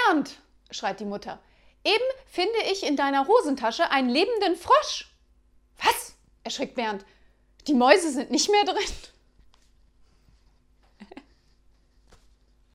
Bernd, schreit die Mutter, eben finde ich in deiner Hosentasche einen lebenden Frosch. Was? Erschrickt Bernd. Die Mäuse sind nicht mehr drin?